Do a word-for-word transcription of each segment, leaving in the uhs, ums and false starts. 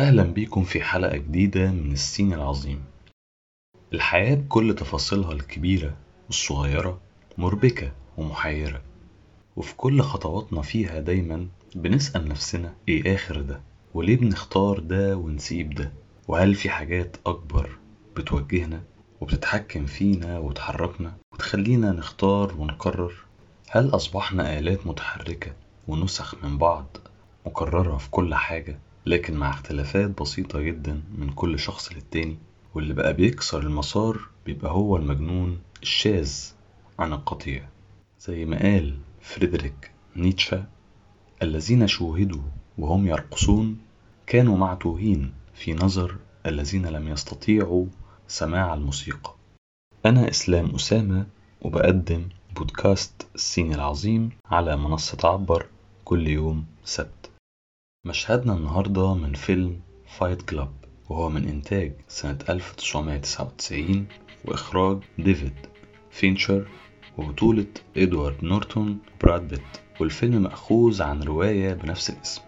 أهلا بيكم في حلقة جديدة من السين العظيم. الحياة بكل تفاصيلها الكبيرة والصغيرة مربكة ومحيرة، وفي كل خطواتنا فيها دايما بنسأل نفسنا إيه آخر ده؟ وليه بنختار ده ونسيب ده؟ وهل في حاجات أكبر بتوجهنا وبتتحكم فينا وتحركنا وتخلينا نختار ونقرر؟ هل أصبحنا آلات متحركة ونسخ من بعض مكررة في كل حاجة، لكن مع اختلافات بسيطة جدا من كل شخص للتاني؟ واللي بقى بيكسر المسار بيبقى هو المجنون الشاذ عن القطيع، زي ما قال فريدريك نيتشه: الذين شوهدوا وهم يرقصون كانوا معتوهين في نظر الذين لم يستطيعوا سماع الموسيقى. أنا إسلام أسامة، وبقدم بودكاست السين العظيم على منصة عبر كل يوم سبت. مشهدنا النهاردة من فيلم فايت كلاب، وهو من إنتاج سنة ألف وتسعمائة وتسعة وتسعين وإخراج ديفيد فينشر، وبطولة إدوارد نورتون وبراد بيت، والفيلم مأخوذ عن رواية بنفس الاسم.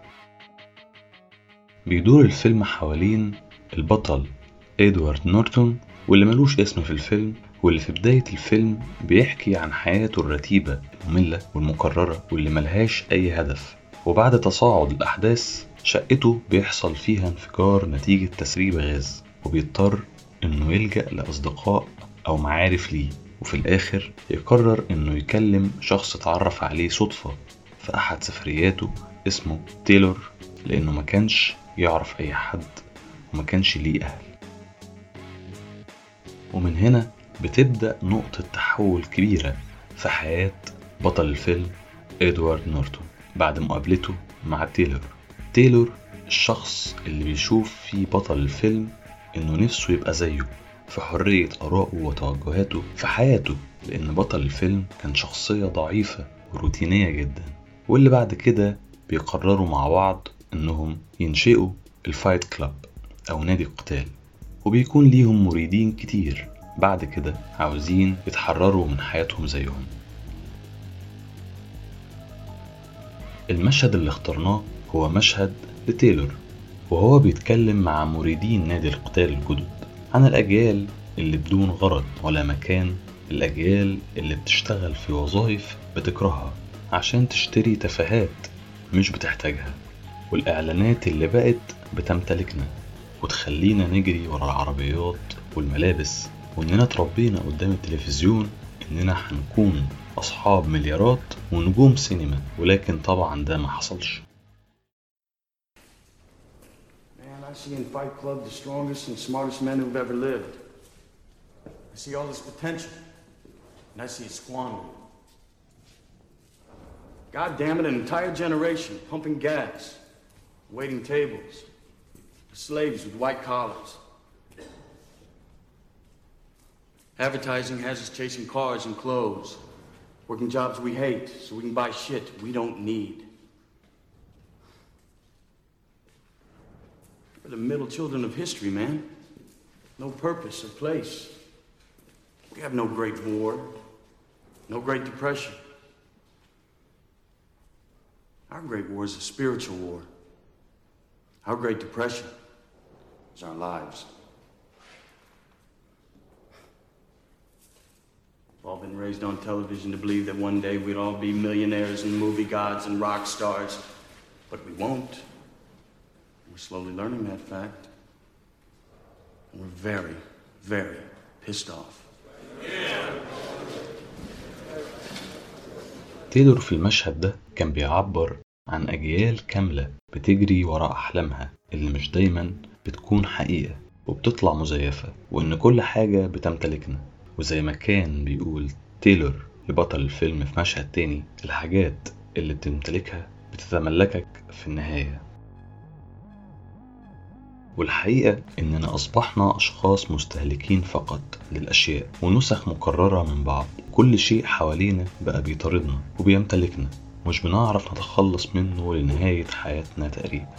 بيدور الفيلم حوالين البطل إدوارد نورتون، واللي ملوش اسم في الفيلم، واللي في بداية الفيلم بيحكي عن حياته الرتيبة المملة والمكررة واللي ملهاش أي هدف. وبعد تصاعد الأحداث شقته بيحصل فيها انفجار نتيجة تسريب غاز، وبيضطر إنه يلجأ لأصدقاء أو معارف ليه، وفي الآخر يقرر إنه يكلم شخص اتعرف عليه صدفة في أحد سفرياته اسمه تايلور، لأنه ما كانش يعرف أي حد وما كانش ليه أهل. ومن هنا بتبدأ نقطة تحول كبيرة في حياة بطل الفيلم إدوارد نورتون بعد مقابلته مع تايلور. تايلور الشخص اللي بيشوف فيه بطل الفيلم إنه نفسه يبقى زيه في حرية آرائه وتوجهاته في حياته، لأن بطل الفيلم كان شخصية ضعيفة وروتينية جدا. واللي بعد كده بيقرروا مع بعض إنهم ينشئوا الفايت كلاب أو نادي القتال، وبيكون ليهم مريدين كتير بعد كده عاوزين يتحرروا من حياتهم زيهم. المشهد اللي اخترناه هو مشهد لتايلور وهو بيتكلم مع مريدين نادي القتال الجدد عن الأجيال اللي بدون غرض ولا مكان، الأجيال اللي بتشتغل في وظائف بتكرهها عشان تشتري تفاهات مش بتحتاجها، والإعلانات اللي بقت بتمتلكنا وتخلينا نجري ورا العربيات والملابس، وإننا تربينا قدام التلفزيون إننا هنكون أصحاب مليارات ونجوم سينما، ولكن طبعا ده ما حصلش. Man, I see in Fight Club the strongest and smartest men who've ever lived. I see all this potential, and I see it squandered. God damn it, an entire generation pumping gas, waiting tables, slaves with white collars. Advertising has us chasing cars and clothes, working jobs we hate so we can buy shit we don't need. We're the middle children of history, man. No purpose or place. We have no great war, no great depression. Our great war is a spiritual war. Our great depression is our lives. We've all been raised on television to believe that one day we'd all be millionaires and movie gods and rock stars, but we won't. We're slowly learning that fact, and we're very, very pissed off. تايلور في المشهد ده كان بيعبر عن أجيال كاملة بتجري وراء أحلامها اللي مش دايما بتكون حقيقة وبتطلع مزيفة، وإن كل حاجة بتمتلكنا. وزي ما كان بيقول تايلور لبطل الفيلم في مشهد تاني: الحاجات اللي بتمتلكها بتتملكك في النهاية. والحقيقة إننا أصبحنا أشخاص مستهلكين فقط للأشياء ونسخ مكررة من بعض. كل شيء حوالينا بقى بيطاردنا وبيمتلكنا، مش بنعرف نتخلص منه لنهاية حياتنا تقريبا.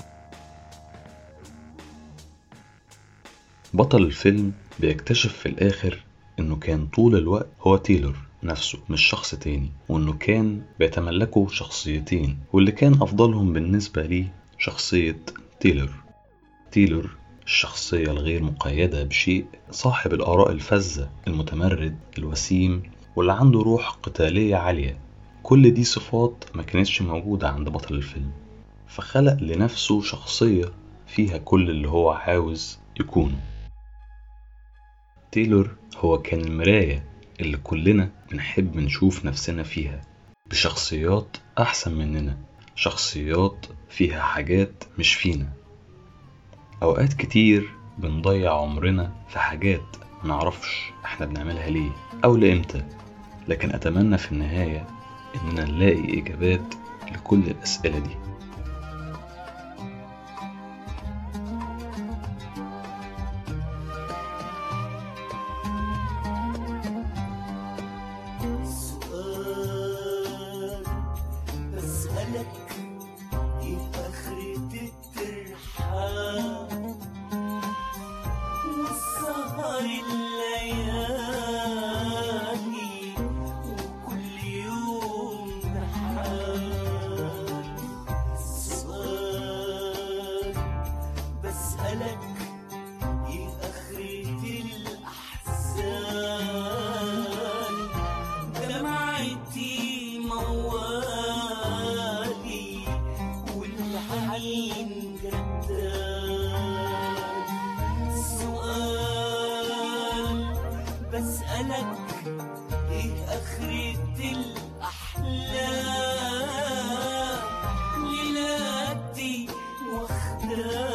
بطل الفيلم بيكتشف في الآخر إنه كان طول الوقت هو تايلور نفسه مش شخص تاني، وإنه كان بيتملكه شخصيتين، واللي كان أفضلهم بالنسبة ليه شخصية تايلور. تايلور الشخصية الغير مقيدة بشيء، صاحب الآراء الفذة، المتمرد، الوسيم، واللي عنده روح قتالية عالية. كل دي صفات ما كانتش موجودة عند بطل الفيلم، فخلق لنفسه شخصية فيها كل اللي هو عاوز يكونه. تايلور هو كان المراية اللي كلنا بنحب نشوف نفسنا فيها، بشخصيات أحسن مننا، شخصيات فيها حاجات مش فينا. أوقات كتير بنضيع عمرنا في حاجات منعرفش احنا بنعملها ليه أو لإمتى، لكن أتمنى في النهاية إننا نلاقي إجابات لكل الأسئلة دي. بسألك ايه اخرة الاحلام؟ ليلاتي واخداك